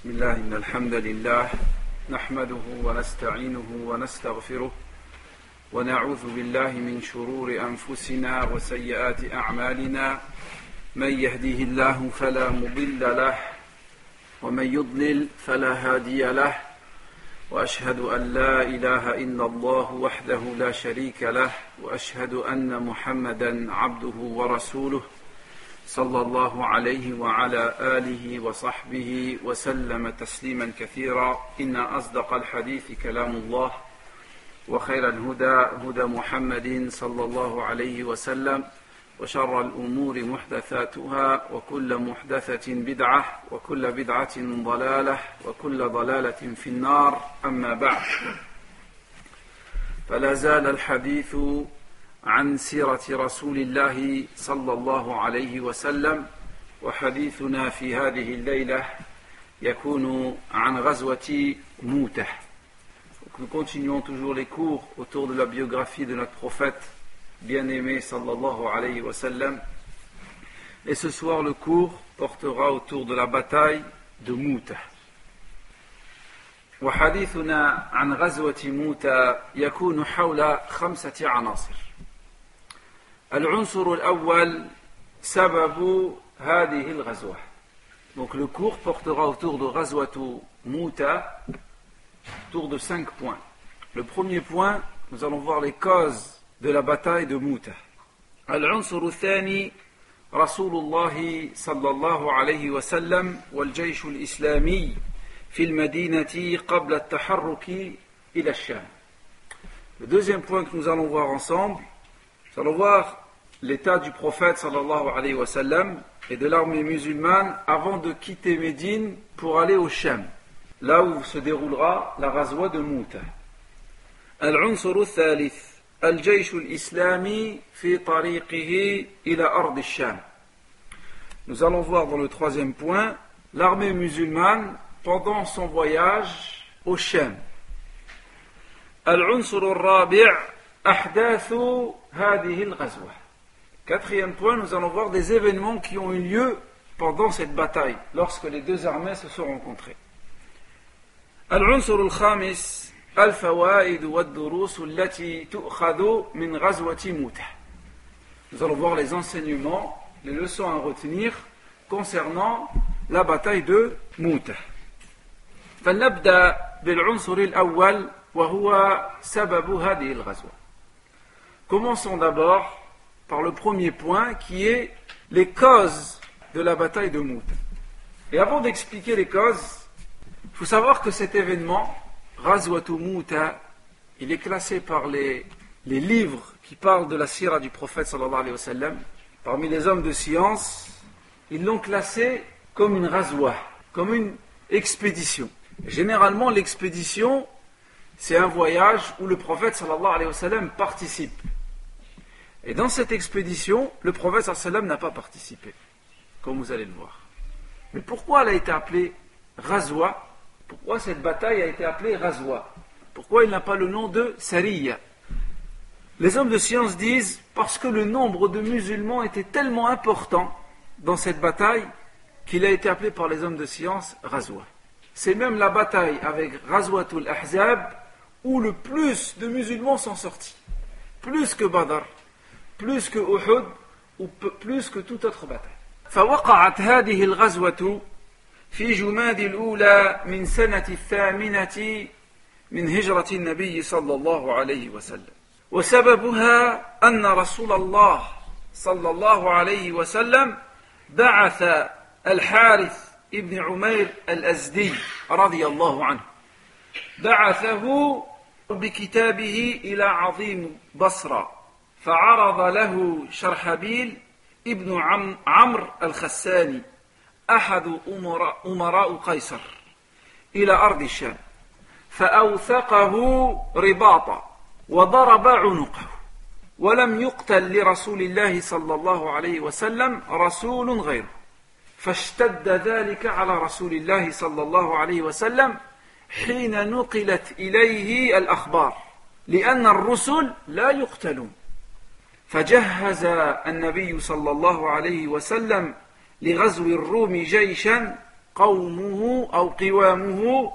بسم الله إن الحمد لله نحمده ونستعينه ونستغفره ونعوذ بالله من شرور أنفسنا وسيئات أعمالنا من يهده الله فلا مضل له ومن يضلل فلا هادي له وأشهد أن لا إله إلا الله وحده لا شريك له وأشهد أن محمدا عبده ورسوله صلى الله عليه وعلى آله وصحبه وسلم تسليما كثيرا إن أصدق الحديث كلام الله وخير الهدى هدى محمد صلى الله عليه وسلم وشر الأمور محدثاتها وكل محدثة بدعة وكل بدعة ضلالة وكل ضلالة في النار أما بعد فلا زال الحديث عن سيرة رسول الله صلى الله عليه وسلم وحديثنا في هذه الليلة يكون عن غزوة موتة. Nous continuons toujours les cours autour de la biographie de notre prophète bien-aimé sallallahu alayhi wa sallam. Et ce soir le cours portera autour de la bataille de Mouta. وحديثنا عن غزوة موتة يكون حول 5 عناصر. العنصر الأول سبب هذه الغزوة. Donc le cours portera autour de غزوة موتة, autour de 5 points. Le premier point, nous allons voir les causes de la bataille de Mouta. العنصر الثاني رسول الله صلى الله عليه وسلم والجيش الإسلامي في المدينة قبل التحرك إلى الشام. Le deuxième point que nous allons voir ensemble, nous allons voir l'état du prophète sallallahu alayhi wa sallam et de l'armée musulmane avant de quitter Médine pour aller au Sham, là où se déroulera la Ghazwa de Mouta. العنصر الثالث الجيش الإسلامي في طريقه إلى أرض الشام. Nous allons voir dans le troisième point l'armée musulmane pendant son voyage au Sham. العنصر الرابع أحداث هذه الغزوة. Quatrième point, nous allons voir des événements qui ont eu lieu pendant cette bataille, lorsque les deux armées se sont rencontrées. العنصر الخامس الفوائد والدروس التي تؤخذ من غزوة موتة. Nous allons voir les enseignements, les leçons à retenir concernant la bataille de Mouta. فلنبدأ بالعنصر الأول وهو سبب هذه الغزوة. Commençons d'abord par le premier point qui est les causes de la bataille de Mouta. Et avant d'expliquer les causes, il faut savoir que cet événement, Ghazwatu Mouta, il est classé par les livres qui parlent de la sira du prophète sallallahu alayhi wa sallam. Parmi les hommes de science, ils l'ont classé comme une ghazwa, comme une expédition. Généralement, l'expédition, c'est un voyage où le prophète sallallahu alayhi wa sallam participe. Et dans cette expédition, le prophète sallallahu alayhi wa sallam n'a pas participé, comme vous allez le voir. Mais pourquoi elle a été appelée Ghazwa? Pourquoi cette bataille a été appelée Ghazwa? Pourquoi il n'a pas le nom de Sariya? Les hommes de science disent parce que le nombre de musulmans était tellement important dans cette bataille qu'il a été appelé par les hommes de science Ghazwa. C'est même la bataille avec Ghazwatul Ahzab où le plus de musulmans sont sortis. Plus que Badr, plus que Uhud ou plus que toute autre bataille. فوقعت هذه الغزوة في جماد الأولى من سنة 8 من هجرة النبي صلى الله عليه وسلم. وسببها أن رسول الله صلى الله عليه وسلم بعث الحارث ابن عمير الأزدي رضي الله عنه، بعثه بكتابه إلى عظيم بصرة، فعرض له شرحبيل ابن عمرو الخساني أحد أمراء قيصر إلى أرض الشام، فأوثقه رباطا وضرب عنقه، ولم يقتل لرسول الله صلى الله عليه وسلم رسول غيره، فاشتد ذلك على رسول الله صلى الله عليه وسلم حين نقلت إليه الأخبار، لأن الرسل لا يقتلون. فجهز النبي صلى الله عليه وسلم لغزو الروم جيشا قومه أو قوامه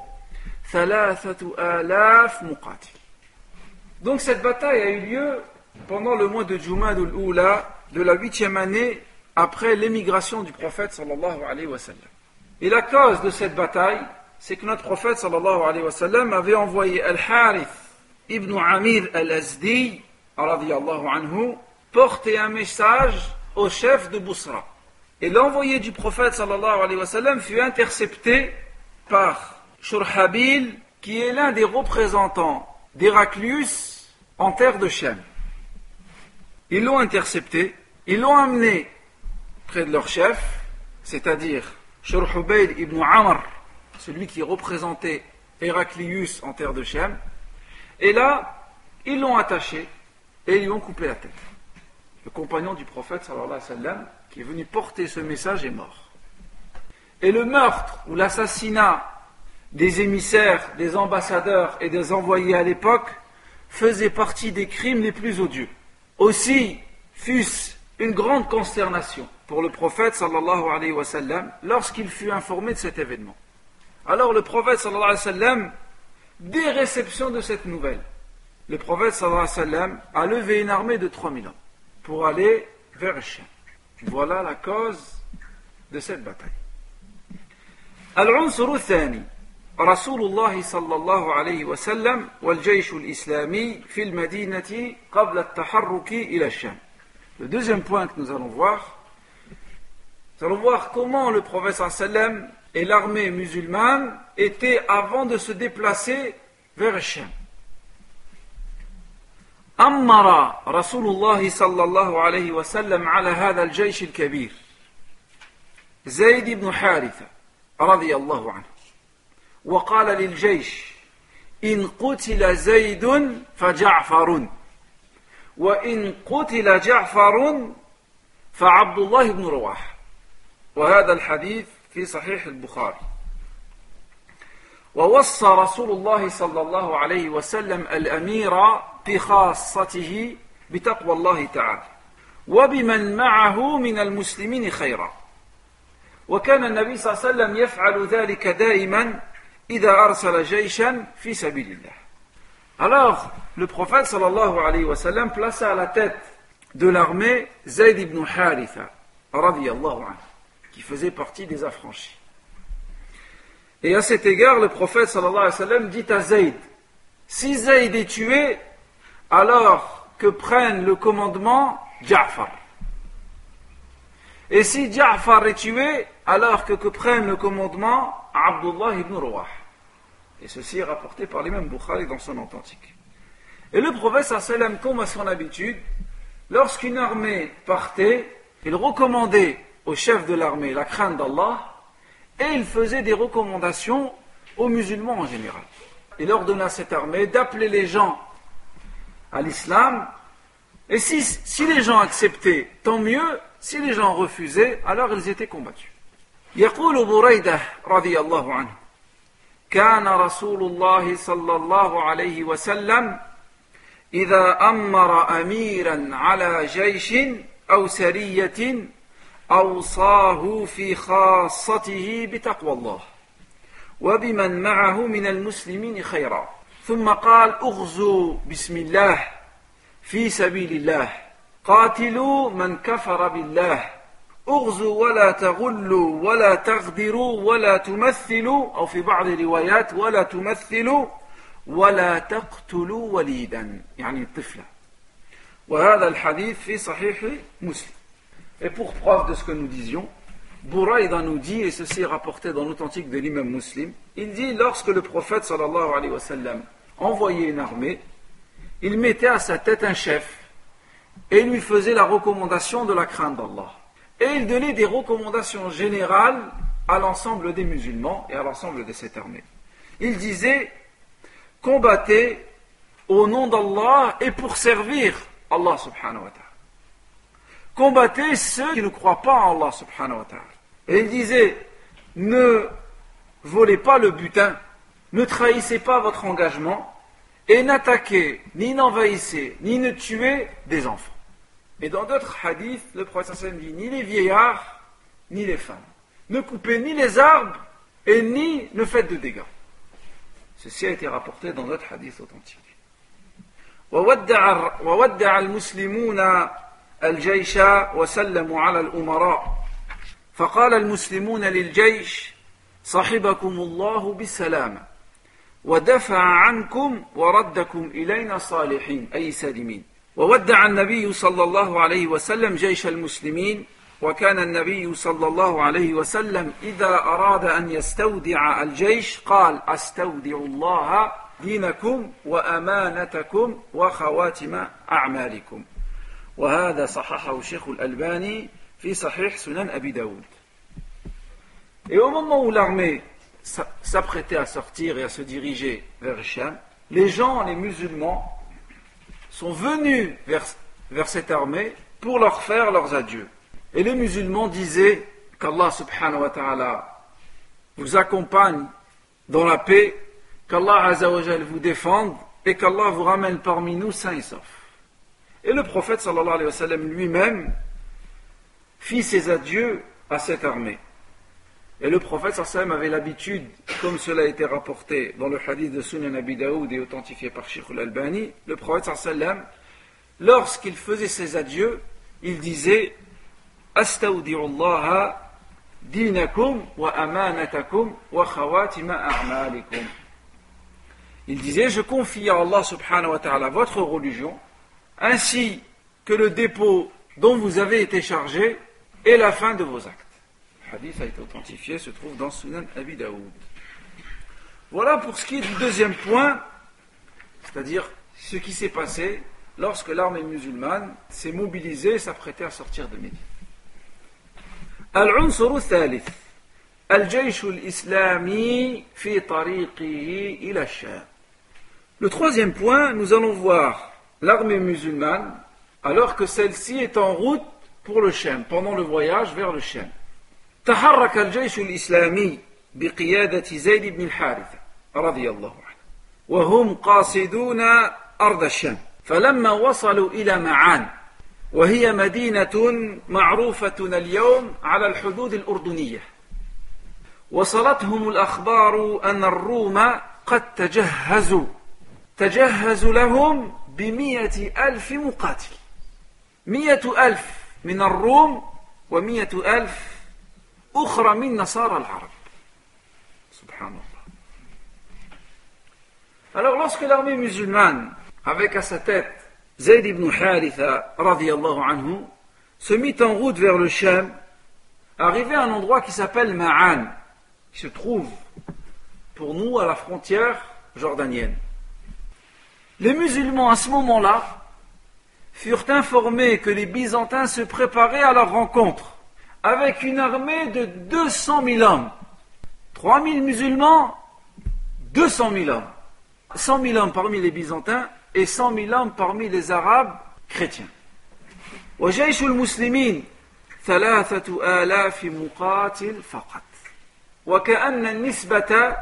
3000 مقاتل. Donc cette bataille a eu lieu pendant le mois de Jumad al-Oula de la 8e année après l'émigration du prophète sallallahu alayhi wa sallam. Et la cause de cette bataille, c'est que notre prophète sallallahu alayhi wa sallam avait envoyé Al-Harith ibn Amir al-Azdi radiyallahu anhu porter un message au chef de Bousra. Et l'envoyé du prophète sallallahu alayhi wa sallam fut intercepté par Shurhabil, qui est l'un des représentants d'Héraclius en terre de Shem. Ils l'ont intercepté, ils l'ont amené près de leur chef, c'est-à-dire Shurhabil ibn Amr, celui qui représentait Héraclius en terre de Shem. Et là, ils l'ont attaché et ils lui ont coupé la tête. Le compagnon du prophète sallallahu alayhi wa sallam, qui est venu porter ce message, est mort. Et le meurtre ou l'assassinat des émissaires, des ambassadeurs et des envoyés à l'époque faisait partie des crimes les plus odieux. Aussi fut-ce une grande consternation pour le prophète sallallahu alayhi wa sallam lorsqu'il fut informé de cet événement. Alors le prophète sallallahu alayhi wa sallam, dès réception de cette nouvelle, le prophète sallallahu alayhi wa sallam a levé une armée de 3000 hommes pour aller vers le Chien. Voilà la cause de cette bataille. العنصر الثاني رسول الله صلى الله عليه وسلم والجيش الإسلامي في المدينة قبل التحرك إلى الشام. Le deuxième point que nous allons voir comment le prophète sallallahu alayhi wa sallam et l'armée musulmane étaient avant de se déplacer vers le Cham. أمر رسول الله صلى الله عليه وسلم على هذا الجيش الكبير زيد بن حارثة رضي الله عنه وقال للجيش إن قتل زيد فجعفر وإن قتل جعفر فعبد الله بن رواحة وهذا الحديث في صحيح البخاري. ووصى رسول الله صلى الله عليه وسلم الأمير بخاصته بتقوى الله تعالى وبمن معه من المسلمين خيرا وكان النبي صلى الله عليه وسلم يفعل ذلك دائما إذا أرسل جيشا في سبيل الله. Alors le prophète sallallahu alayhi wa sallam plaça à la tête de l'armée Zayd ibn Haritha radiyallahu anhu, qui faisait partie des affranchis. Et à cet égard le prophète sallallahu alayhi wa sallam dit à Zayd, si Zayd est tué, alors que prenne le commandement Ja'far. Et si Ja'far est tué, alors que prenne le commandement Abdullah ibn Rawah. Et ceci est rapporté par l'imam Bukhari dans son authentique. Et le prophète sallallahu alayhi wa sallam, comme à son habitude, lorsqu'une armée partait, il recommandait au chef de l'armée la crainte d'Allah et il faisait des recommandations aux musulmans en général. Il ordonna à cette armée d'appeler les gens à l'islam, et si les gens acceptaient, tant mieux. Si les gens refusaient, alors ils étaient combattus. يقول بريدة رضي الله عنه كان رسول الله صلى الله عليه وسلم إذا أمر أميرا على جيش أو سرية أوصاه في خاصته بتقوى الله وبمن معه من المسلمين خيرا ثم قال اغزوا بسم الله في سبيل الله قاتلوا من كفر بالله اغزوا ولا تغلوا ولا تغدروا ولا تمثلوا أو في بعض الروايات ولا تمثلوا ولا تقتلوا وليدا يعني الطفلة وهذا الحديث في صحيح مسلم. Et pour preuve de ce que nous disions, Bouraïda nous dit, et ceci est rapporté dans l'authentique de l'imam Muslim, il dit, lorsque le prophète sallallahu alayhi wa sallam envoyait une armée, il mettait à sa tête un chef et il lui faisait la recommandation de la crainte d'Allah. Et il donnait des recommandations générales à l'ensemble des musulmans et à l'ensemble de cette armée. Il disait, combattez au nom d'Allah et pour servir Allah subhanahu wa ta'ala. Combattez ceux qui ne croient pas en Allah subhanahu wa ta'ala. Et il disait, ne volez pas le butin, ne trahissez pas votre engagement, et n'attaquez, ni n'envahissez, ni ne tuez des enfants. Et dans d'autres hadiths, le prophète sallallahu alayhi wa sallam dit, ni les vieillards, ni les femmes. Ne coupez ni les arbres, et ni ne faites de dégâts. Ceci a été rapporté dans d'autres hadiths authentiques. وودع المسلمون الجيش وسلموا على الأمراء فقال المسلمون للجيش صحبكم الله بالسلامة ودفع عنكم وردكم إلينا صالحين أي سالمين. وودع النبي صلى الله عليه وسلم جيش المسلمين وكان النبي صلى الله عليه وسلم إذا أراد أن يستودع الجيش قال أستودع الله دينكم وأمانتكم وخواتم أعمالكم. وهذا صححه الشيخ الألباني في صحيح سنن أبي داود. Et au moment où l'armée s'apprêtait à sortir et à se diriger vers le Cham, les gens, les musulmans, sont venus vers cette armée pour leur faire leurs adieux. Et les musulmans disaient qu'Allah subhanahu wa ta'ala vous accompagne dans la paix, qu'Allah azza wa jal vous défende et qu'Allah vous ramène parmi nous sains et saufs. Et le prophète sallallahu alayhi wa sallam lui-même fit ses adieux à cette armée. Et le prophète sallallahu alayhi wa sallam avait l'habitude, comme cela a été rapporté dans le hadith de Sunan Abi Daoud et authentifié par Shaykh al-Albani, le prophète sallallahu alayhi wa sallam, lorsqu'il faisait ses adieux, il disait Astaudi'u Allah dinakum wa amanatakum wa khawatima a'malikum. Il disait, je confie à Allah subhanahu wa ta'ala votre religion, ainsi que le dépôt dont vous avez été chargé et la fin de vos actes. Le hadith a été authentifié, se trouve dans Sunan Abi Daoud. Voilà pour ce qui est du deuxième point, c'est-à-dire ce qui s'est passé lorsque l'armée musulmane s'est mobilisée et s'apprêtait à sortir de Médine. العنصر الثالث الجيش الإسلامي في طريقه إلى الشام. Le troisième point, nous allons voir l'armée musulmane alors que celle-ci est en route pour le Cham, pendant le voyage vers le Cham. تحرك الجيش الإسلامي بقيادة زيد بن الحارثة رضي الله عنه وهم قاصدون أرض الشام فلما وصلوا إلى معان وهي مدينة معروفة اليوم على الحدود الأردنية وصلتهم الأخبار أن الروم قد تجهزوا لهم ب100,000 مقاتل 100,000 من الروم و100,000 أخرى من نصارى العرب. Subhanallah. Alors lorsque l'armée musulmane, avec à sa tête Zayd ibn Haritha radiyallahu anhu, se mit en route vers le Cham, arrivé à un endroit qui s'appelle Ma'an, qui se trouve pour nous à la frontière jordanienne. Les musulmans à ce moment-là furent informés que les Byzantins se préparaient à leur rencontre avec une armée de 200 000 hommes. 3 000 musulmans, 200 000 hommes. 100 000 hommes parmi les Byzantins et 100 000 hommes parmi les Arabes chrétiens. وجيش المسلمين 3,000 مقاتل فقط وكأن النسبة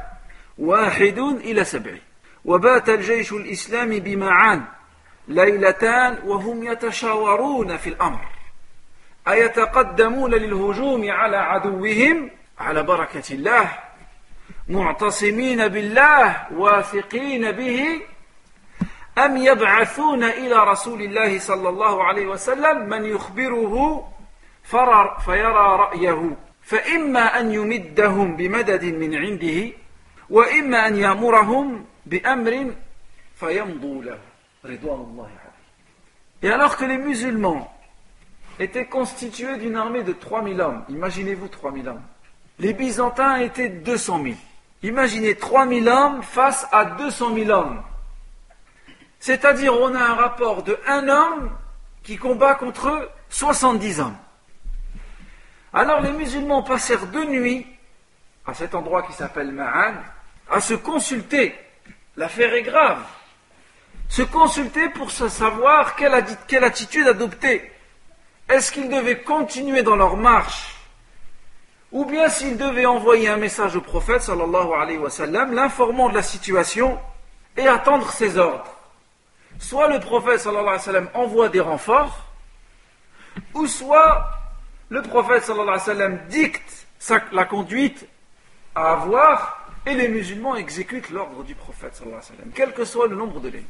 1:7 وبات الجيش الإسلامي بمعان ليلتان وهم يتشاورون في الأمر أيتقدمون للهجوم على عدوهم على بركة الله معتصمين بالله واثقين به أم يبعثون إلى رسول الله صلى الله عليه وسلم من يخبره فيرى رأيه فإما أن يمدهم بمدد من عنده وإما أن يأمرهم بأمر فيمضوا له رضوان الله عليه. Et alors que les musulmans étaient constitués d'une armée de 3 000 hommes, imaginez-vous 3 000 hommes, les Byzantins étaient 200 000. Imaginez 3 000 hommes face à 200 000 hommes. C'est-à-dire on a un rapport de 1 homme qui combat contre 70 hommes. Alors les musulmans passèrent 2 nuits à cet endroit qui s'appelle Ma'an à se consulter. L'affaire est grave. Se consulter pour savoir quelle attitude adopter. Est-ce qu'ils devaient continuer dans leur marche ou bien s'ils devaient envoyer un message au prophète sallallahu alayhi wa sallam l'informant de la situation et attendre ses ordres. Soit le prophète sallallahu alayhi wa sallam envoie des renforts ou soit le prophète sallallahu alayhi wa sallam dicte la conduite à avoir, et les musulmans exécutent l'ordre du prophète sallallahu alayhi wa sallam, quel que soit le nombre de l'ennemi.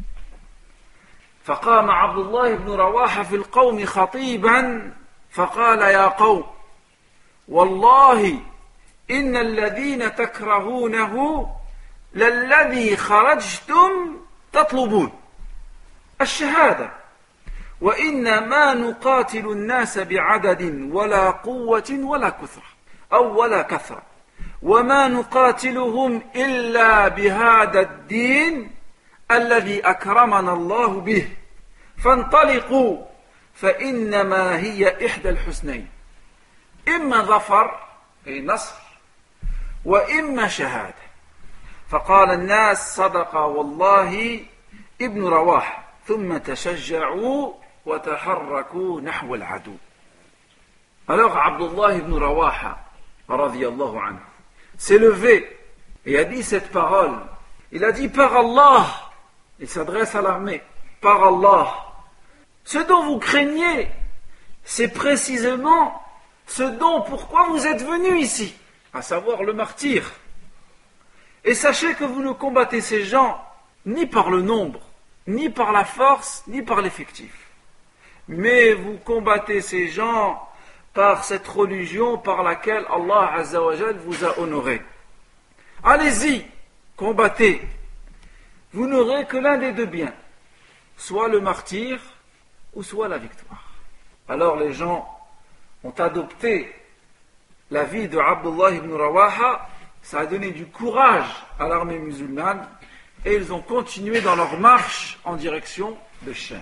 فقام عبد الله بن رواحة في القوم خطيبا فقال يا قوم والله إن الذين تكرهونه للذي خرجتم تطلبون الشهادة وإنما نقاتل الناس بعدد ولا قوة ولا كثرة ولا كثرة وما نقاتلهم إلا بهذا الدين الذي أكرمنا الله به فانطلقوا فإنما هي إحدى الحسنين إما ظفر أي نصر وإما شهادة فقال الناس صدق والله ابن رواحة ثم تشجعوا وتحركوا نحو العدو. Alors Abdullah ibn Rawaha radiyallahu anhu s'est levé et a dit cette parole. Il a dit par Allah, il s'adresse à l'armée, par Allah, ce dont vous craignez, c'est précisément ce dont pourquoi vous êtes venus ici, à savoir le martyr. Et sachez que vous ne combattez ces gens ni par le nombre, ni par la force, ni par l'effectif. Mais vous combattez ces gens par cette religion par laquelle Allah Azza wa Jal vous a honoré. Allez-y, combattez. Vous n'aurez que l'un des deux biens, soit le martyr ou soit la victoire. Alors les gens ont adopté la vie de Abdullah ibn Rawaha, ça a donné du courage à l'armée musulmane et ils ont continué dans leur marche en direction de Sham.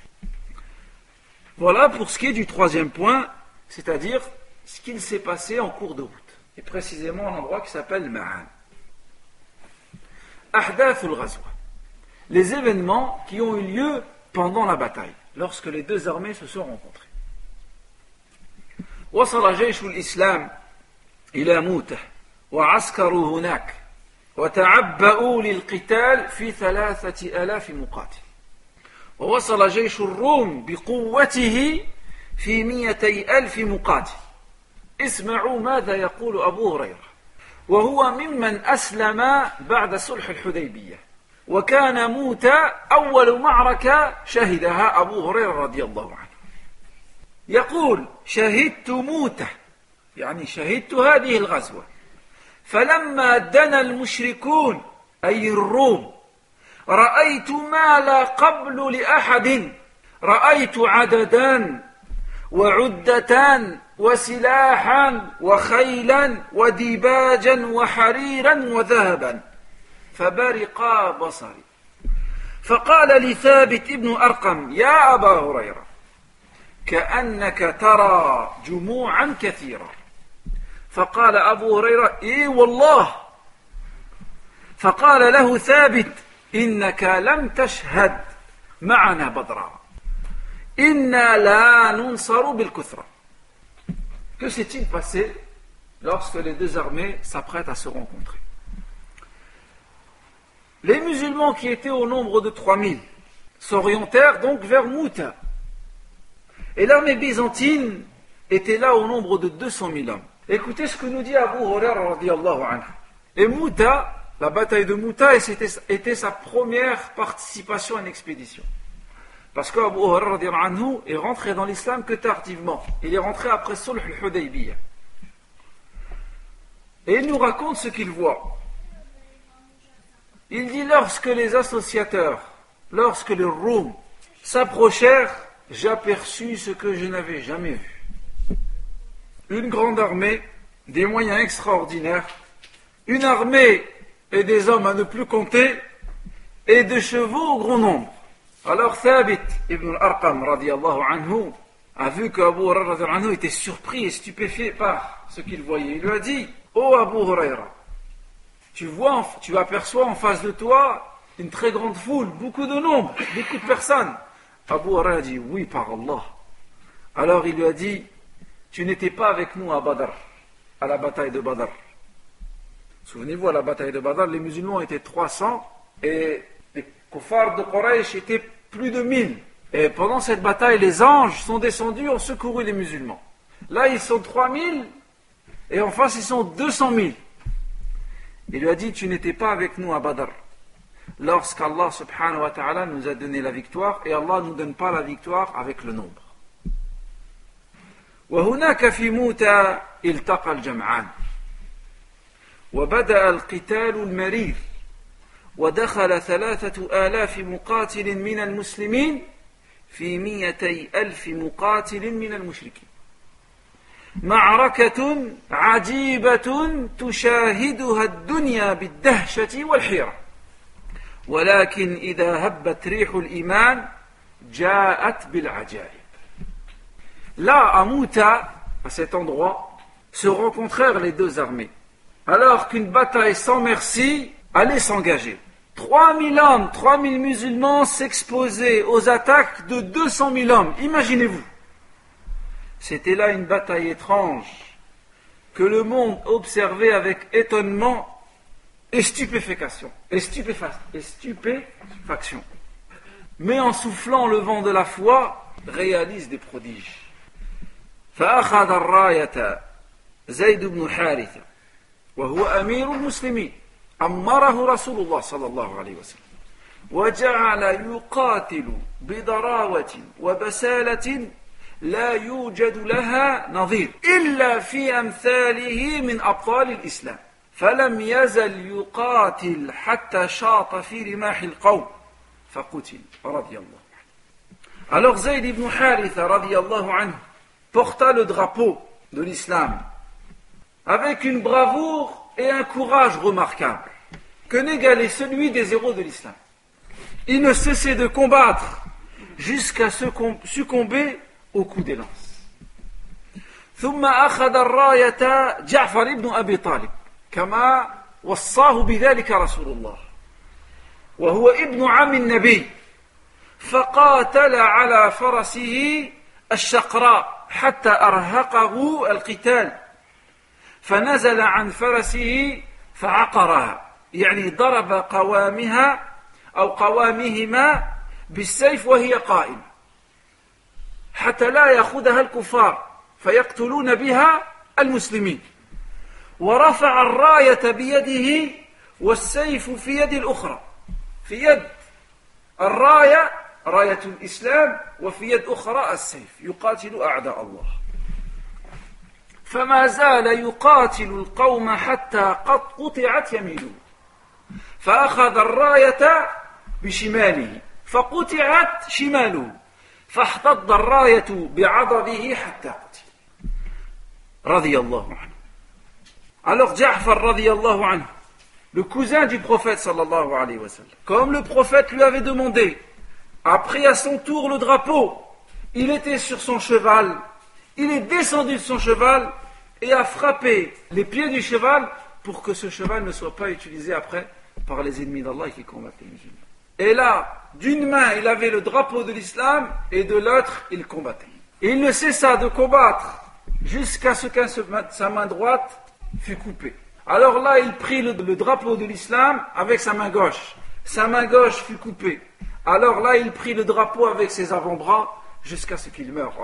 Voilà pour ce qui est du troisième point, c'est-à-dire ce qu'il s'est passé en cours de route, et précisément un endroit qui s'appelle Ma'an. Ahdath al-Ghazwa, les événements qui ont eu lieu pendant la bataille, lorsque les deux armées se sont rencontrées. وصل جيش الإسلام إلى موته وعسكروا هناك وتعبأوا للقتال في 3000 مقاتل ووصل جيش الروم بقوته في 200,000 مقاتل. اسمعوا ماذا يقول أبو هريرة وهو ممن أسلم بعد صلح الحديبية وكان موتى أول معركة شهدها أبو هريرة رضي الله عنه. يقول شهدت موتة يعني شهدت هذه الغزوة فلما دنا المشركون أي الروم رأيت ما لا قبل لأحد رأيت عددان وعدتان وسلاحا وخيلا وديباجا وحريرا وذهبا فبرقا بصري فقال لثابت ابن أرقم يا أبا هريرة كأنك ترى جموعا كثيرة فقال أبو هريرة إيه والله فقال له ثابت إنك لم تشهد معنا بدرا إنا لا ننصر بالكثرة. Que s'est-il passé lorsque les deux armées s'apprêtent à se rencontrer? Les musulmans qui étaient au nombre de 3000 s'orientèrent donc vers Mouta. Et l'armée byzantine était là au nombre de 200 000 hommes. Écoutez ce que nous dit Abu Hurairah radiyallahu anhu. Et Mouta, la bataille de Mouta, était sa première participation à une expédition. Parce qu'Abu Hurairah radiyallahu anhu est rentré dans l'islam que tardivement. Il est rentré après Sulh al-Hudaybiyah. Et il nous raconte ce qu'il voit. Il dit lorsque les associateurs, lorsque les Roms s'approchèrent, j'aperçus ce que je n'avais jamais vu. Une grande armée, des moyens extraordinaires, une armée et des hommes à ne plus compter, et de chevaux au grand nombre. Alors Thabit ibn al-Arqam radiyallahu anhu a vu qu'Abu Hurairah radiyallahu anhu était surpris et stupéfait par ce qu'il voyait. Il lui a dit, oh Abu Hurairah, tu aperçois en face de toi une très grande foule, beaucoup de nombre, beaucoup de personnes. Abu Hurairah a dit, oui par Allah. Alors il lui a dit, tu n'étais pas avec nous à Badr, à la bataille de Badr. Souvenez-vous, à la bataille de Badr, les musulmans étaient 300 et les kuffars de Quraysh étaient plus de 1000. Et pendant cette bataille, les anges sont descendus, ont secouru les musulmans. Là, ils sont 3000 et en face, ils sont 200 000. Il lui a dit, tu n'étais pas avec nous à Badr, lorsqu'Allah subhanahu wa ta'ala nous a donné la victoire, et Allah ne nous donne pas la victoire avec le nombre. وهناك في موتى التقى الجمعان وبدأ القتال المرير ودخل 3000 مقاتل من المسلمين في 200,000 مقاتل من المشركين معركة عجيبة تشاهدها الدنيا بالدهشة والحيرة ولكن إذا هبت ريح الإيمان جاءت بالعجائب. Là, à Mouta, à cet endroit, se rencontrèrent les deux armées, alors qu'une bataille sans merci allait s'engager. 3000 hommes, 3000 musulmans s'exposaient aux attaques de 200 000 hommes. Imaginez-vous. C'était là une bataille étrange que le monde observait avec étonnement et stupéfaction. Mais en soufflant le vent de la foi, réalise des prodiges. فأخذ الراية زيد بن حارثة وهو أمير المسلمين أمره رسول الله صلى الله عليه وسلم وجعل يقاتل بضراوة وبسالة لا يوجد لها نظير إلا في أمثاله من أبطال الإسلام فلم يزل يقاتل حتى شاط في رماح القوم فقتل رضي الله عنه. Alors Zayd ibn Haritha radiyallahu anhu porta le drapeau de l'islam avec une bravoure et un courage remarquables que n'égalait celui des héros de l'islam. Il ne cessait de combattre jusqu'à succomber au coup des lances. ثم أخذ الراية جعفر بن أبي طالب كما وصاه بذلك رسول الله وهو ابن عم النبي فقاتل على فرسه الشقراء حتى أرهقه القتال فنزل عن فرسه فعقرها يعني ضرب قوامها أو قوامهما بالسيف وهي قائمة حتى لا يأخذها الكفار فيقتلون بها المسلمين ورفع الراية بيده والسيف في يد الأخرى في يد الراية راية الإسلام وفي يد أخرى السيف يقاتل أعداء الله فما زال يقاتل القوم حتى قد قطعت يمينه فأخذ الراية بشماله فقطعت شماله فاحتض الراية بعضده حتى قتل رضي الله عنه. Alors Ja'far radiyallahu anhu, le cousin du prophète sallallahu alayhi wa sallam, comme le prophète lui avait demandé, a pris à son tour le drapeau. Il était sur son cheval, il est descendu de son cheval et a frappé les pieds du cheval pour que ce cheval ne soit pas utilisé après par les ennemis d'Allah qui combattent les musulmans. Et là, d'une main, il avait le drapeau de l'islam et de l'autre, il combattait. Et il ne cessa de combattre jusqu'à ce que sa main droite fut coupée. Alors là, il prit le drapeau de l'islam avec sa main gauche. Sa main gauche fut coupée. Alors là, il prit le drapeau avec ses avant-bras jusqu'à ce qu'il meure.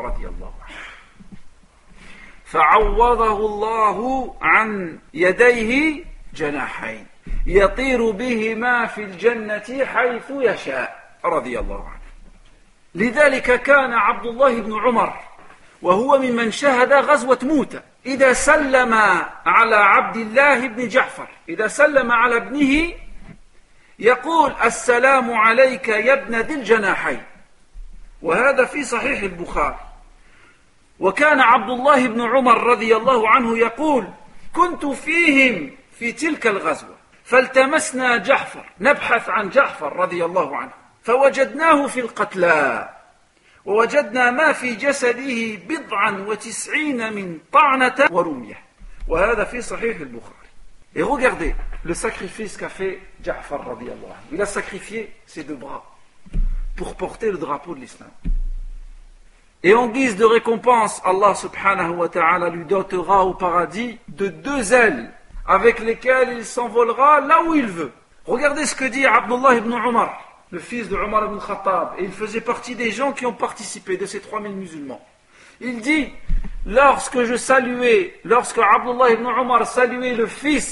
فعوضه الله عن يديه جناحين يطير بهما في الجنة حيث يشاء رضي الله عنه. لذلك كان عبد الله بن عمر وهو ممن شهد غزوة موتى إذا سلم على عبد الله بن جعفر إذا سلم على ابنه يقول السلام عليك يا ابن ذي الجناحين وهذا في صحيح البخاري. وكان عبد الله بن عمر رضي الله عنه يقول كنت فيهم في تلك الغزوة فالتمسنا جعفر نبحث عن جعفر رضي الله عنه فوجدناه في القتلى ووجدنا ما في جسده 99 من طعنة ورمية وهذا في صحيح البخاري. Et regardez le sacrifice qu'a fait Ja'far radiyallahu anhu. Il a sacrifié ses deux bras pour porter le drapeau de l'islam. Et en guise de récompense, Allah subhanahu wa ta'ala lui dotera au paradis de 2 ailes avec lesquelles il s'envolera là où il veut. Regardez ce que dit Abdullah ibn Umar, le fils de Umar ibn Khattab, et il faisait partie des gens qui ont participé de ces 3000 musulmans. Il dit, lorsque Abdullah ibn Umar saluait le fils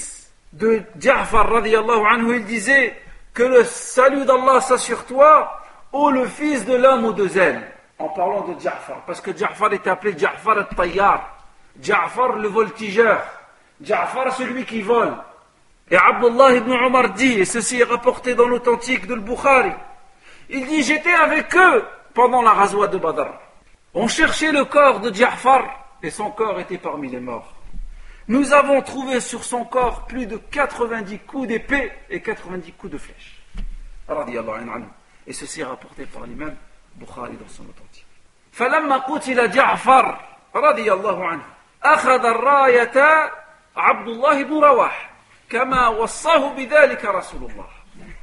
de Ja'far radiyallahu anhu, il disait que le salut d'Allah soit sur toi, ô le fils de l'homme aux deux ailes. En parlant de Ja'far, parce que Ja'far est appelé Ja'far al-Tayyar, Ja'far le voltigeur, Ja'far celui qui vole. Et Abdullah ibn Omar dit, et ceci est rapporté dans l'authentique de Bukhari, il dit, j'étais avec eux pendant la ghazwa de Badr. On cherchait le corps de Ja'far et son corps était parmi les morts. Nous avons trouvé sur son corps plus de 90 coups d'épée et 90 coups de flèche. Et ceci est rapporté par l'imam Bukhari dans son authentique. فلما قتل جعفر رضي الله عنه أخذ الراية عبد الله بن رواحة كما وصاه بذلك رسول الله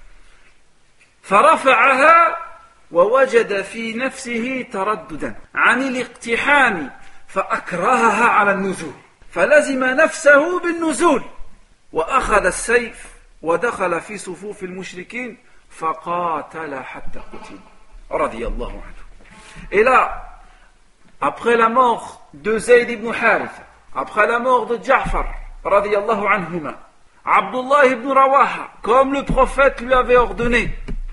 فرفعها ووجد في نفسه ترددا عن الاقتحام فأكرهها على النزول فلزم نفسه بالنزول وأخذ السيف ودخل في صفوف المشركين فقاتل حتى قتل رضي الله عنه. Et là, après la mort de Zayd ibn Haritha, après la mort de Ja'far radiyallahu anhuma, Abdullah ibn Rawaha, comme le prophète lui avait ordonné,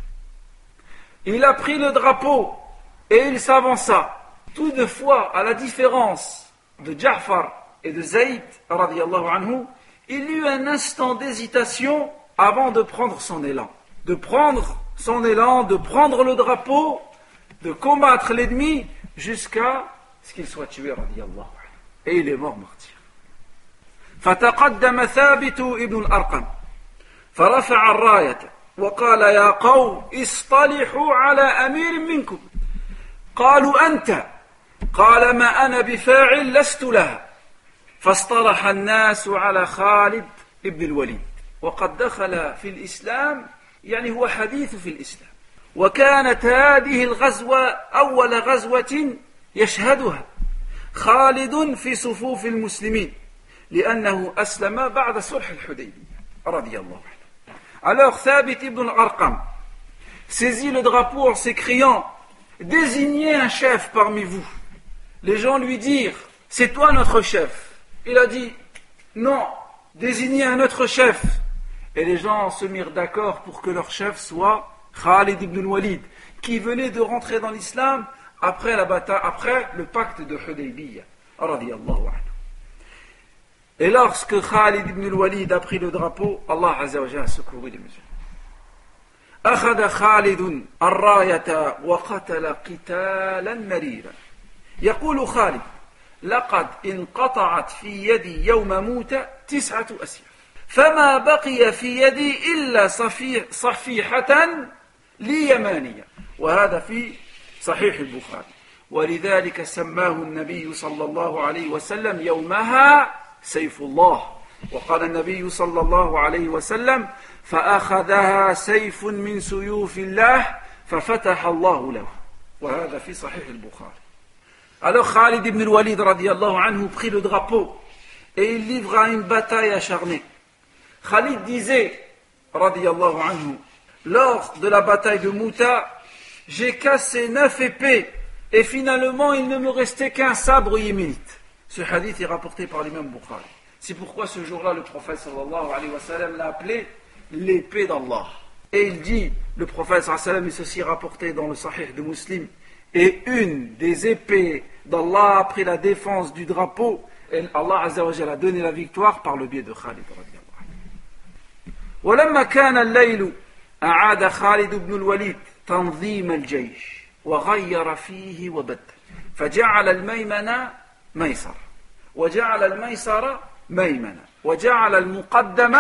il a pris le drapeau et il s'avança. Toutefois, à la différence de Ja'far et de Zayd radiyallahu anhu, il eut un instant d'hésitation avant de prendre son élan. De prendre son élan, de prendre le drapeau, de combattre l'ennemi jusqu'à ce qu'il soit tué radiyallahu anhu. Et il est mort martyr. فتقدم ثابت ابن الأرقم فرفع الراية وقال يا قوم اصطلحوا على أمير منكم قالوا أنت قال ما أنا بفاعل لست لها فاصطلح الناس على خالد ابن الوليد وقد دخل في الإسلام يعني هو حديث في الإسلام وكانت هذه الغزوة أول غزوة يشهدها خالد في صفوف المسلمين لأنه أسلم بعد صلح الحديبية رضي الله عنه. Alors Thabit ibn al-Arqam saisit le drapeau en s'écriant désignez un chef parmi vous. Les gens lui dirent c'est toi notre chef. Il a dit non, désignez un autre chef. Et les gens se mirent d'accord pour que leur chef soit Khalid ibn al-Walid, qui venait de rentrer dans l'islam après la bataille, après le pacte de Hudaybiyah radiyallahu anhu. Et lorsque Khalid ibn al-Walid a pris le drapeau, Allah Azza wa Jalla a secouru les musulmans. أخذ خالد الراية وقتل قتالا مريرا. يقول خالد: لقد انقطعت في يدي يوم موت 9 أسياف، فما بقي في يدي إلا صفيحة لي يمانية. وهذا في صحيح البخاري. ولذلك سماه النبي صلى الله عليه وسلم يومها سيف الله. وقال النبي صلى الله عليه وسلم: فأخذها سيف من سيوف الله ففتح الله له. وهذا في صحيح البخاري. Alors Khalid ibn al-Walid radiyallahu anhu prit le drapeau et il livra une bataille acharnée. Khalid disait radiyallahu anhu, lors de la bataille de Mouta, j'ai cassé 9 épées et finalement il ne me restait qu'un sabre yéménite. Ce hadith est rapporté par l'imam Bukhari. C'est pourquoi ce jour-là le prophète sallallahu alayhi wa sallam l'a appelé l'épée d'Allah. Et il dit, le prophète sallallahu alayhi wa sallam, et ceci est rapporté dans le Sahih de Muslim, et une des épées d'Allah a pris la défense du drapeau et Allah Azza wa Jalla a donné la victoire par le biais de Khalid radiyallahu anhu. ولما كان الليل أعاد خالد بن الوليد تنظيم الجيش وغير فيه وبدل فجعل الميمنة ميسر وجعل الميسر ميمنة وجعل المقدم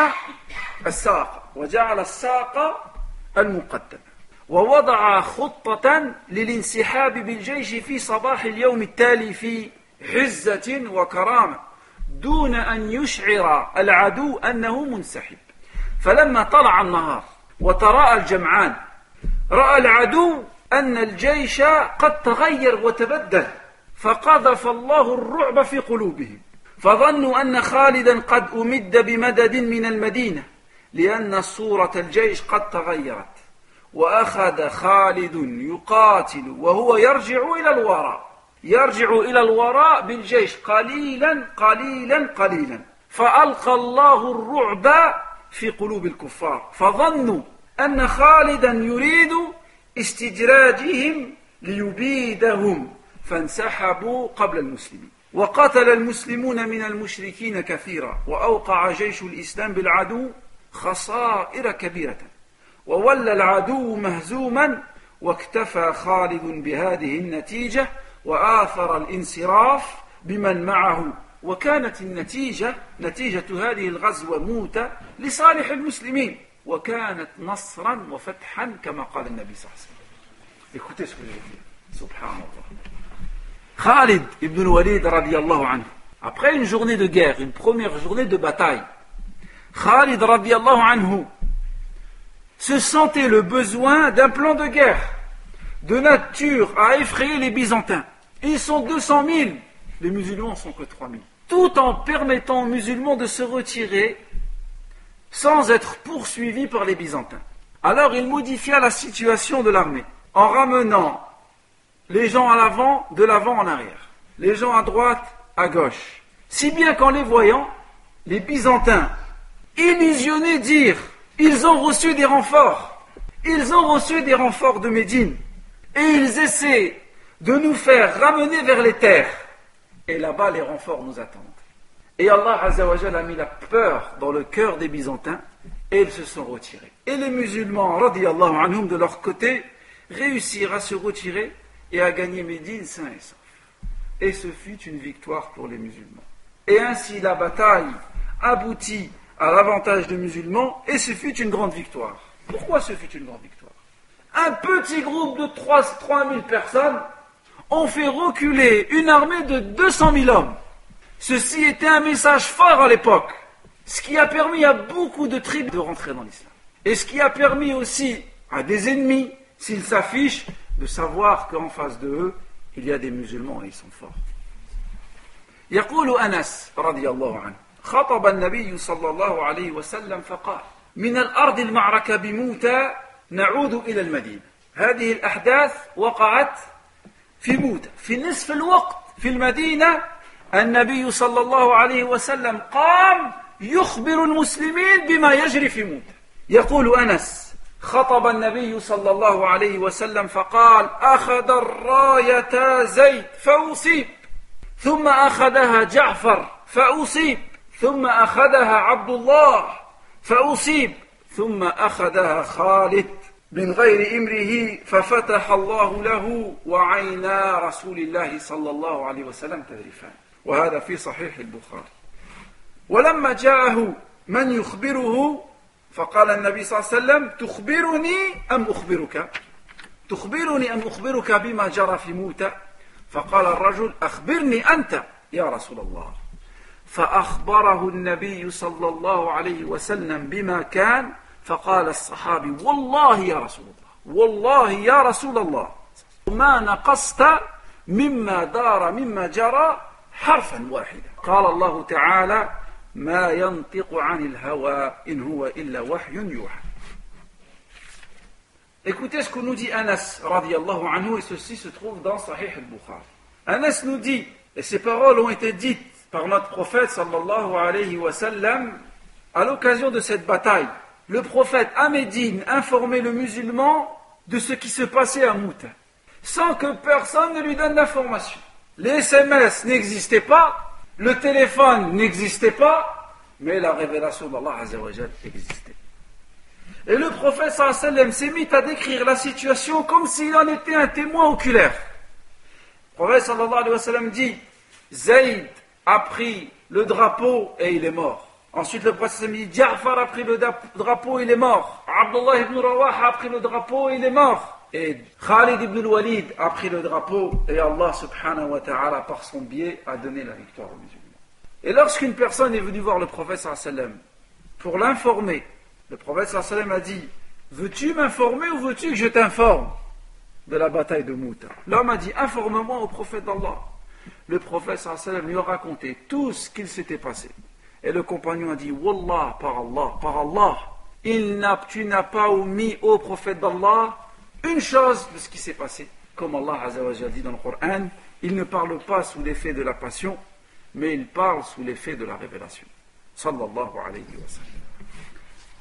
الساق وجعل الساق المقدم ووضع خطة للانسحاب بالجيش في صباح اليوم التالي في عزة وكرامة دون أن يشعر العدو أنه منسحب. فلما طلع النهار وتراءى الجمعان رأى العدو أن الجيش قد تغير وتبدل فقذف الله الرعب في قلوبهم فظنوا أن خالدا قد أمد بمدد من المدينة لأن صورة الجيش قد تغيرت. وأخذ خالد يقاتل وهو يرجع إلى الوراء بالجيش قليلا قليلا قليلا فألقى الله الرعب في قلوب الكفار فظنوا أن خالدا يريد استدراجهم ليبيدهم فانسحبوا قبل المسلمين وقتل المسلمون من المشركين كثيرا وأوقع جيش الإسلام بالعدو خسائر كبيرة وولى العدو مهزوما واكتفى خالد بهذه النتيجة وآثر الانصراف بمن معه وكانت النتيجة نتيجة هذه الغزوة موتة لصالح المسلمين وكانت نصرا وفتحا كما قال النبي صلى الله عليه وسلم. Écoutez ce que je vais dire. Subhanallah. Khalid ibn al-Walid radiyallahu anhu, après une journée de guerre, une première journée de bataille, Khalid radiyallahu anhu se sentait le besoin d'un plan de guerre de nature à effrayer les Byzantins. Ils sont 200 000, les musulmans ne sont que 3 000. Tout en permettant aux musulmans de se retirer sans être poursuivis par les Byzantins. Alors il modifia la situation de l'armée en ramenant les gens à l'avant, de l'avant en arrière, les gens à droite, à gauche. Si bien qu'en les voyant, les Byzantins, illusionnés, dirent « Ils ont reçu des renforts, ils ont reçu des renforts de Médine, et ils essaient de nous faire ramener vers les terres. Et là-bas, les renforts nous attendent. » Et Allah Azza wa Jalla a mis la peur dans le cœur des Byzantins, et ils se sont retirés. Et les musulmans, radiyallahu anhum, de leur côté, réussirent à se retirer et à gagner Médine sain et sauf. Et ce fut une victoire pour les musulmans. Et ainsi la bataille aboutit à l'avantage des musulmans et ce fut une grande victoire. Pourquoi ce fut une grande victoire? Un petit groupe de 3 000 personnes ont fait reculer une armée de 200 000 hommes. Ceci était un message fort à l'époque, ce qui a permis à beaucoup de tribus de rentrer dans l'islam. Et ce qui a permis aussi à des ennemis, s'ils s'affichent, de savoir qu'en face de eux, il y a des musulmans et ils sont forts. يقول أنس رضي الله عنه خطب النبي صلى الله عليه وسلم فقال من الأرض المعركة بموتى نعود إلى المدينة. هذه الأحداث وقعت في موتى في نصف الوقت في المدينة. النبي صلى الله عليه وسلم قام يخبر المسلمين بما يجري في موتى. يقول أنس خطب النبي صلى الله عليه وسلم فقال أخذ الراية زيد فأصيب ثم أخذها جعفر فأصيب ثم أخذها عبد الله فأصيب ثم أخذها خالد من غير إمره ففتح الله له وعينا رسول الله صلى الله عليه وسلم تذرفان. وهذا في صحيح البخاري. ولما جاءه من يخبره فقال النبي صلى الله عليه وسلم تخبرني أم أخبرك؟ تخبرني أم أخبرك بما جرى في موتى؟ فقال الرجل أخبرني أنت يا رسول الله. فأخبره النبي صلى الله عليه وسلم بما كان فقال الصحابي والله يا رسول الله والله يا رسول الله ما نقصت مما دار مما جرى حرفا واحدا. قال الله تعالى ما ينطق عن الهوى إن هو إلا وحي يوحى. Écoutez ce que nous dit Anas radiyallahu anhu, et ceci se trouve dans Sahih al-Bukhari. Anas nous dit, et ces paroles ont été dites par notre prophète sallallahu alayhi wa sallam à l'occasion de cette bataille. Le prophète à Médine informait le musulman de ce qui se passait à Mouta, sans que personne ne lui donne d'information. Les SMS n'existaient pas, le téléphone n'existait pas, mais la révélation d'Allah Azza wa Jal existait. Et le prophète sallallahu alayhi wa sallam s'est mis à décrire la situation comme s'il en était un témoin oculaire. Le prophète sallallahu alayhi wa sallam dit Zayd a pris le drapeau et il est mort. Ensuite le prophète sallallahu alayhi wa sallam dit Ja'far a pris le drapeau et il est mort. Abdullah ibn Rawaha a pris le drapeau et il est mort. Et Khalid ibn al-Walid a pris le drapeau et Allah subhanahu wa ta'ala par son biais a donné la victoire aux musulmans. Et lorsqu'une personne est venue voir le prophète sallallahu alayhi wa sallam pour l'informer, le prophète sallallahu alayhi wa sallam a dit veux-tu m'informer ou veux-tu que je t'informe de la bataille de Mouta? L'homme a dit informe-moi au prophète d'Allah. Le prophète sallallahu alayhi wa sallam lui a raconté tout ce qu'il s'était passé. Et le compagnon a dit Wallah, par Allah, tu n'as pas omis au prophète d'Allah une chose de ce qui s'est passé. Comme Allah Azza wa Jalla dit dans le Coran, il ne parle pas sous l'effet de la passion, mais il parle sous l'effet de la révélation. Sallallahu alayhi wa sallam.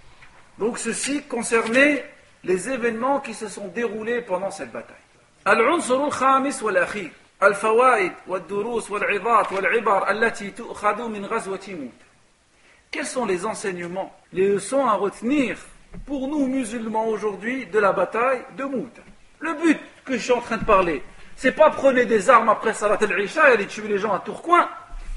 Donc ceci concernait les événements qui se sont déroulés pendant cette bataille. العنصر الخامس والأخير الفوائد والدروس والعظات والعبر التي تؤخذ من غزوة موت. Quels sont les enseignements, les leçons à retenir pour nous musulmans aujourd'hui de la bataille de Mout? Le but que je suis en train de parler, c'est pas prenez des armes après Salat al-Isha et allez tuer les gens à Tourcoing.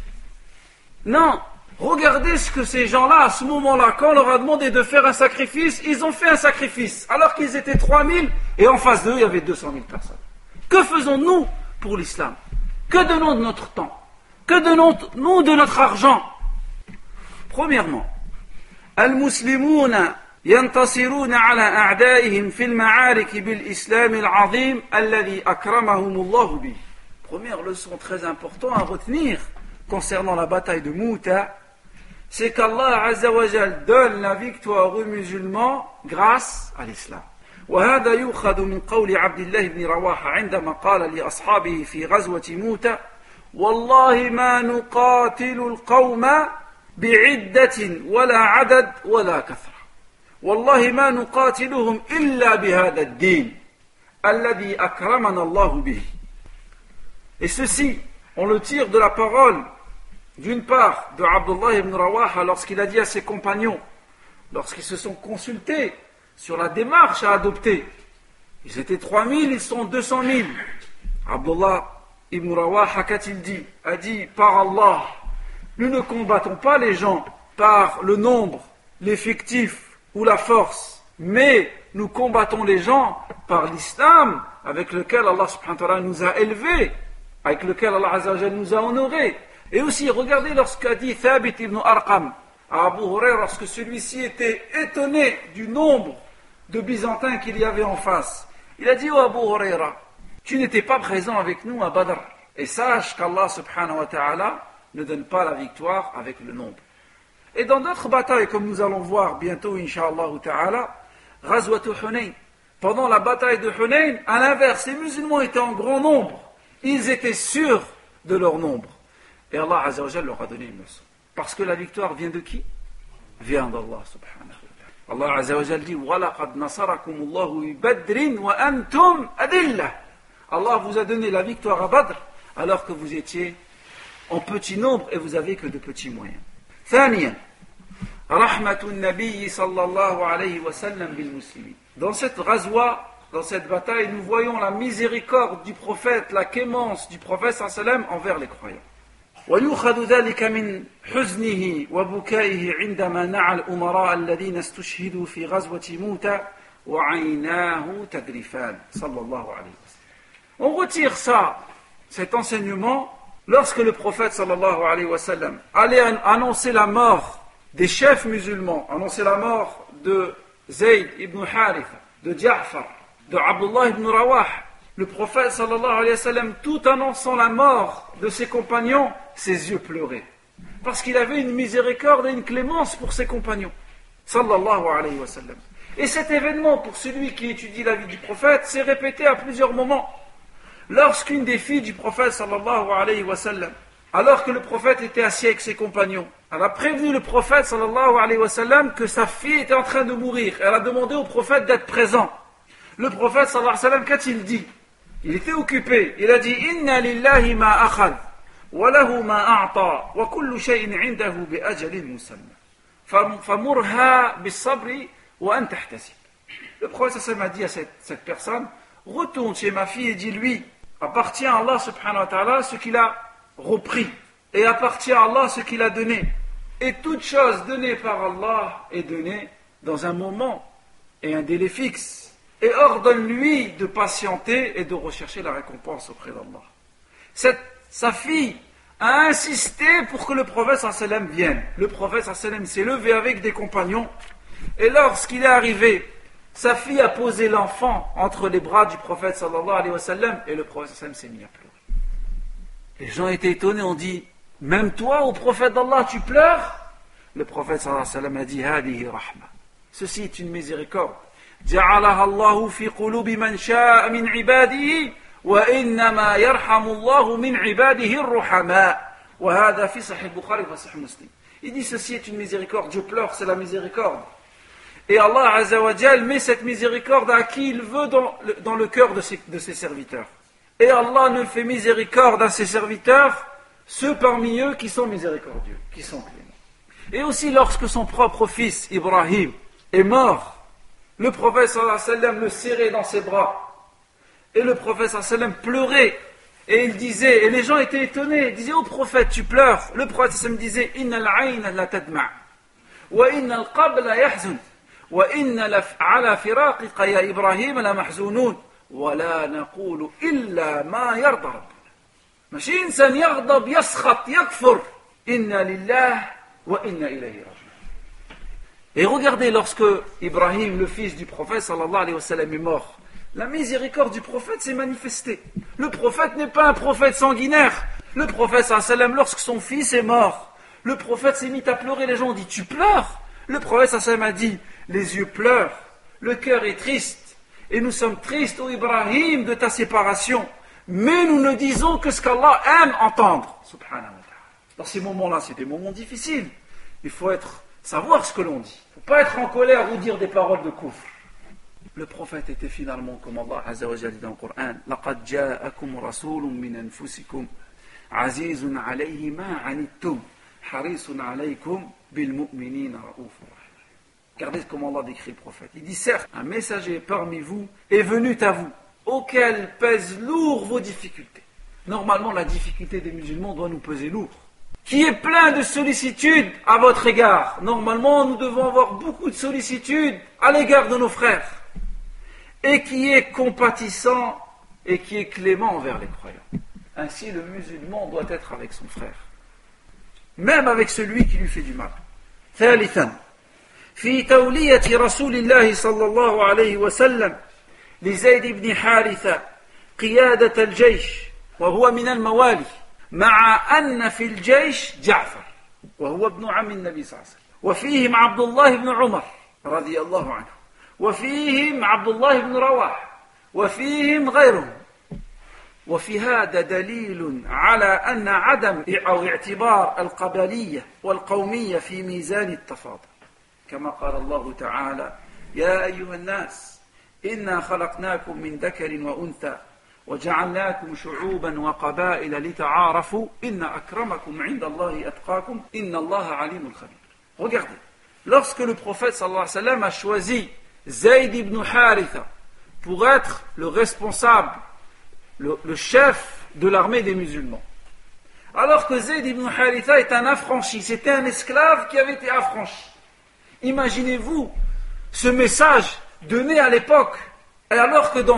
Non, regardez ce que ces gens-là, à ce moment-là, quand on leur a demandé de faire un sacrifice, ils ont fait un sacrifice, alors qu'ils étaient 3000 et en face d'eux, il y avait 200 000 personnes. Que faisons-nous pour l'islam? Que donnons de notre temps? Que donnons-nous de notre argent? Premièrement, المسلمون ينتصرون على أعدائهم في المعارك بالإسلام العظيم الذي أكرمهم الله به. Première leçon très importante à retenir concernant la bataille de Mouta, c'est qu'Allah Azza wa Jal donne la victoire aux musulmans grâce à l'islam. وهذا يؤخذ من قول عبد الله بن رواحة عندما قال لأصحابه في غزوة موتى والله ما نقاتل القوم بعدة ولا عدد ولا كثرة والله ما نقاتلهم إلا بهذا الدين الذي أكرمنا الله به. Et ceci, on le tire de la parole d'une part de Abdullah ibn Rawaha lorsqu'il a dit à ses compagnons, lorsqu'ils se sont consultés sur la démarche à adopter. Ils étaient 3000, ils sont 200 000. Abdullah ibn Rawaha, qu'a-t-il dit? A dit, par Allah, nous ne combattons pas les gens par le nombre, l'effectif ou la force, mais nous combattons les gens par l'islam avec lequel Allah subhanahu wa ta'ala nous a élevés, avec lequel Allah azza wa jalla nous a honorés. Et aussi, regardez lorsqu'a dit Thabit ibn Arqam à Abu Huraira, lorsque celui-ci était étonné du nombre de Byzantins qu'il y avait en face. Il a dit, oh Abu Huraira, tu n'étais pas présent avec nous à Badr. Et sache qu'Allah subhanahu wa ta'ala ne donne pas la victoire avec le nombre. Et dans d'autres batailles, comme nous allons voir bientôt, incha'Allah ta'ala, Ghazwat Hunayn. Pendant la bataille de Hunayn, à l'inverse, les musulmans étaient en grand nombre. Ils étaient sûrs de leur nombre. Et Allah Azza wa Jalla leur a donné une leçon. Parce que la victoire vient de qui? Vient d'Allah subhanahu wa ta'ala. Allah Azza wa Jalla dit وَلَقَدْ نَصَرَكُمُ اللَّهُ بِبَدْرٍ وَأَنْتُمْ أَدِلَّةٌ. Allah vous a donné la victoire à Badr alors que vous étiez en petit nombre et vous n'avez que de petits moyens. ثانيا رحمة النبي صلى الله عليه وسلم بالمسلمين. Dans cette ghazwa, dans cette bataille, nous voyons la miséricorde du prophète, la clémence du prophète sallallahu alayhi wa sallam envers les croyants. ويؤخذ ذلك من حزنه وبكائه عندما نعى الأمراء الذين استشهدوا في غزوة موتى وعيناه تذرفان صلى الله عليه وسلم. On retire ça, cet enseignement, lorsque le prophète sallallahu alayhi wa sallam allait annoncer la mort des chefs musulmans, annoncer la mort de Zayd ibn Haritha, de Ja'far, de Abdullah ibn Rawah, le prophète sallallahu alayhi wa sallam, tout annonçant la mort de ses compagnons, ses yeux pleuraient. Parce qu'il avait une miséricorde et une clémence pour ses compagnons. Sallallahu alayhi wa sallam. Et cet événement, pour celui qui étudie la vie du prophète, s'est répété à plusieurs moments. Lorsqu'une des filles du prophète sallallahu alayhi wa sallam, alors que le prophète était assis avec ses compagnons, elle a prévenu le prophète sallallahu alayhi wa sallam que sa fille était en train de mourir. Elle a demandé au prophète d'être présent. Le prophète sallallahu alayhi wa sallam, qu'a-t-il dit? Il était occupé. Il a dit Inna lillahi ma akhad wa lahu ma a'ta wa kullu shay'in 'indahu bi ajalin musamma famurha bis sabri wa an tahtasib. Le prophète sallallahu alayhi wa sallam a dit à cette personne, retourne chez ma fille et dis-lui, appartient à Allah subhanahu wa ta'ala ce qu'il a repris et appartient à Allah ce qu'il a donné. Et toute chose donnée par Allah est donnée dans un moment et un délai fixe. Et ordonne-lui de patienter et de rechercher la récompense auprès d'Allah. Sa fille a insisté pour que le prophète sallallahu alayhi wa sallam vienne. Le prophète sallallahu alayhi wa sallam s'est levé avec des compagnons et lorsqu'il est arrivé, sa fille a posé l'enfant entre les bras du prophète sallallahu alayhi wa sallam et le prophète sallallahu alayhi wa sallam s'est mis à pleurer. Les gens étaient étonnés, on dit, même toi, au prophète d'Allah, tu pleures? Le prophète sallallahu alayhi wa sallam a dit, hadihi rahma. Ceci est une miséricorde. جعلها الله في قلوب من شاء من عباده وإنما يرحم الله من عباده الرحماء وهذا في صحيح البخاري وصحيح مسلم. Il dit ceci est une miséricorde, je pleure, c'est la miséricorde. Et Allah Azza wa Jal met cette miséricorde à qui il veut dans le cœur de ses serviteurs. Et Allah ne fait miséricorde à ses serviteurs, ceux parmi eux qui sont miséricordieux, qui sont cléments. Et aussi lorsque son propre fils, Ibrahim, est mort, le prophète sallallahu alayhi wa sallam le serrait dans ses bras. Et le prophète sallallahu alayhi wa sallam pleurait. Et il disait, et les gens étaient étonnés, ils disaient, oh prophète, tu pleures. Le prophète sallallahu alayhi wa sallam disait, Inna al-ayna la tadma' wa inna al-qab la yahzun wa inna ala firaqika ya Ibrahim la mahzunun wa la naqulu illa ma yarda rabbuna. ماشي إنسان يغضب يسخط يكفر إنا لله وإنا إليه راجعون. Et regardez, lorsque Ibrahim, le fils du prophète sallallahu alayhi wa sallam, est mort, la miséricorde du prophète s'est manifestée. Le prophète n'est pas un prophète sanguinaire. Le prophète sallallahu alayhi wa sallam, lorsque son fils est mort, le prophète s'est mis à pleurer. Les gens ont dit, tu pleures? Le prophète sallallahu alayhi wa sallam a dit, les yeux pleurent, le cœur est triste, et nous sommes tristes, ô Ibrahim, de ta séparation. Mais nous ne disons que ce qu'Allah aime entendre. Subhanahu wa ta'ala. Dans ces moments-là, c'est des moments difficiles. Il faut savoir ce que l'on dit. Il ne faut pas être en colère ou dire des paroles de kufr. Le prophète était finalement, comme Allah Azza wa Jalla dit dans le Coran, لَقَدْ جَاءَكُمْ رَسُولٌ مِّنْ أَنفُسِكُمْ عَزِيزٌ عَلَيْهِ مَا عَنِتُّمْ حَرِيصٌ عَلَيْكُمْ بِالْمُؤْمِنِينَ رَءُوفٌ رَحِيمٌ. Regardez comment Allah décrit le prophète. Il dit, certes, un messager parmi vous est venu à vous, auquel pèsent lourd vos difficultés. Normalement, la difficulté des musulmans doit nous peser lourd. Qui est plein de sollicitude à votre égard. Normalement, nous devons avoir beaucoup de sollicitude à l'égard de nos frères. Et qui est compatissant et qui est clément envers les croyants. Ainsi, le musulman doit être avec son frère. Même avec celui qui lui fait du mal. ثالثا في تولية رسول الله صلى الله عليه وسلم لزيد بن حارثة قيادة الجيش وهو من الموالي مع أن في الجيش جعفر وهو ابن عم النبي صلى الله عليه وسلم وفيهم عبد الله بن عمر رضي الله عنه وفيهم عبد الله بن رواح وفيهم غيرهم وفي هذا دليل على أن عدم أو اعتبار القبلية والقومية في ميزان التفاضل كما قال الله تعالى يا أيها الناس إنا خلقناكم من ذكر وأنثى وجعلناكم شعوبا وقبائل لتعارفوا إن أكرمكم عند الله أتقاكم إن الله عليم خبير. Regardez, lorsque le prophète sallallahu alayhi wa sallam a choisi Zayd ibn Haritha pour être le responsable, le chef de l'armée des musulmans, alors que Zayd ibn Haritha est un affranchi, c'était un esclave qui avait été affranchi. Imaginez-vous ce message donné à l'époque, alors que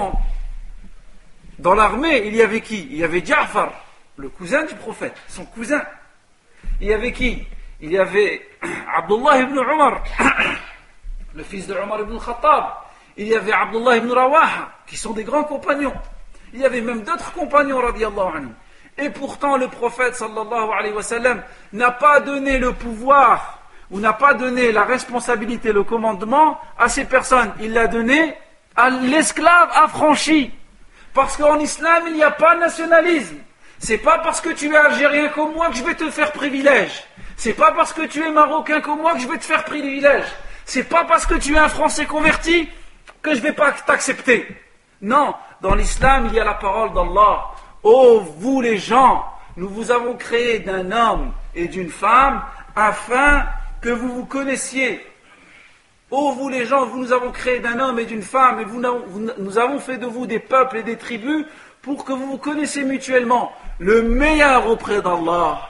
dans l'armée, il y avait qui? Il y avait Ja'far, le cousin du prophète, son cousin. Il y avait qui? Il y avait Abdullah ibn Umar, le fils de Umar ibn Khattab. Il y avait Abdullah ibn Rawaha, qui sont des grands compagnons. Il y avait même d'autres compagnons, radiyallahu anhu. Et pourtant, le prophète, sallallahu alayhi wa sallam, n'a pas donné le pouvoir, ou n'a pas donné la responsabilité, le commandement à ces personnes. Il l'a donné à l'esclave affranchi. Parce qu'en islam, il n'y a pas de nationalisme. C'est pas parce que tu es algérien comme moi que je vais te faire privilège. C'est pas parce que tu es marocain comme moi que je vais te faire privilège. C'est pas parce que tu es un français converti que je vais pas t'accepter. Non, dans l'islam, il y a la parole d'Allah. Oh, vous les gens, nous vous avons créé d'un homme et d'une femme afin que vous vous connaissiez. Oh, vous les gens, nous avons créé d'un homme et d'une femme, et nous avons fait de vous des peuples et des tribus pour que vous vous connaissiez mutuellement. Le meilleur auprès d'Allah,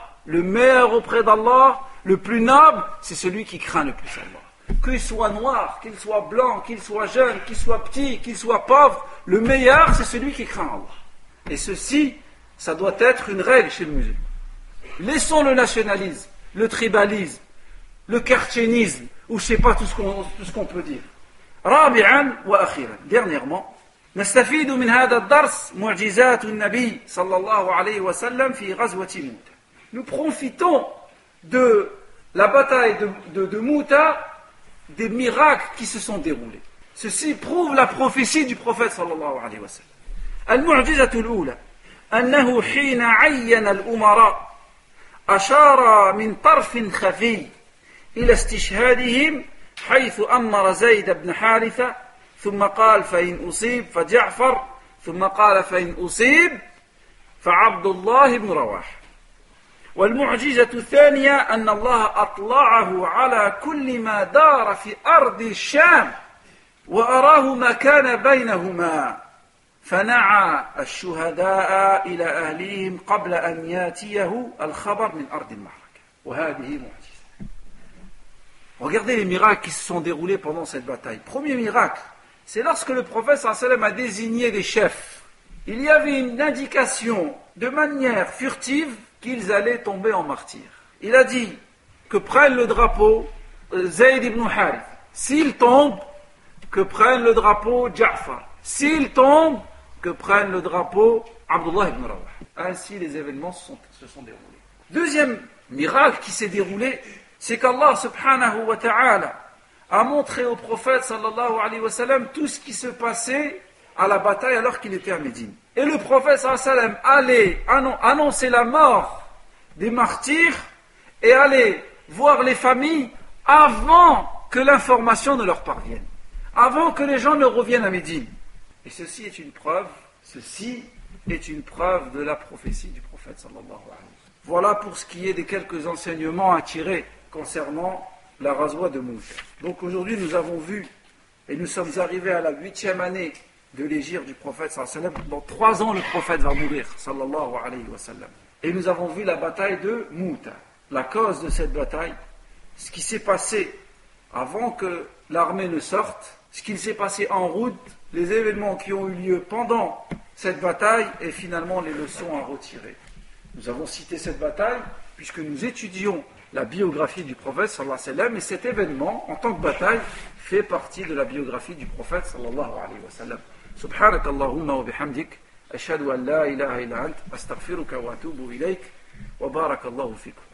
le plus noble, c'est celui qui craint le plus Allah. Qu'il soit noir, qu'il soit blanc, qu'il soit jeune, qu'il soit petit, qu'il soit pauvre, le meilleur, c'est celui qui craint Allah. Et ceci, ça doit être une règle chez le musulman. Laissons le nationalisme, le tribalisme, le kartchénisme, ou je ne sais pas tout ce qu'on peut dire. رابعا وأخيرا, dernièrement, نستفيد من هذا الدرس معجزات النبي صلى الله عليه وسلم في غزوة موتى. Nous profitons de la bataille de Mouta, des miracles qui se sont déroulés. Ceci prouve la prophétie du prophète صلى الله عليه وسلم. المعجزة الأولى أنه حين عين الأمراء أشار من طرف خفي إلى استشهادهم حيث أمر زيد بن حارثة ثم قال فإن أصيب فجعفر ثم قال فإن أصيب فعبد الله بن رواحة. والمعجزة الثانية أن الله أطلعه على كل ما دار في أرض الشام وأراه ما كان بينهما فنعى الشهداء إلى أهليهم قبل أن ياتيه الخبر من أرض المعركة. وهذه معجزة. Regardez les miracles qui se sont déroulés pendant cette bataille. Premier miracle, c'est lorsque le prophète sallallahu alayhi wa sallam a désigné des chefs. Il y avait une indication de manière furtive qu'ils allaient tomber en martyrs. Il a dit que prenne le drapeau Zayd ibn Harith. S'il tombe, que prenne le drapeau Ja'far. S'il tombe, que prenne le drapeau Abdullah ibn Rawah. Ainsi les événements se sont déroulés. Deuxième miracle qui s'est déroulé, c'est qu'Allah subhanahu wa ta'ala a montré au prophète sallallahu alayhi wa sallam tout ce qui se passait à la bataille alors qu'il était à Médine. Et le prophète sallallahu alayhi wa sallam allait annoncer la mort des martyrs et allait voir les familles avant que l'information ne leur parvienne, avant que les gens ne reviennent à Médine. Et ceci est une preuve de la prophétie du prophète sallallahu alayhi wa sallam. Voilà pour ce qui est des quelques enseignements à tirer concernant la Ghazwa de Mouta. Donc aujourd'hui nous avons vu et nous sommes arrivés à la 8e année de l'hégire du prophète sallallahu alayhi wa sallam. Dans 3 ans le prophète va mourir sallallahu alayhi wa sallam. Et nous avons vu la bataille de Mouta, la cause de cette bataille, ce qui s'est passé avant que l'armée ne sorte, ce qui s'est passé en route, les événements qui ont eu lieu pendant cette bataille et finalement les leçons à retirer. Nous avons cité cette bataille puisque nous étudions la biographie du prophète sallallahu alayhi wa sallam et cet événement en tant que bataille fait partie de la biographie du prophète sallallahu alayhi wa sallam. Subhanak Allahumma wa bihamdik ashhadu an la ilaha illa ant astaghfiruka wa atubu ilayk wa barakallahu fikum.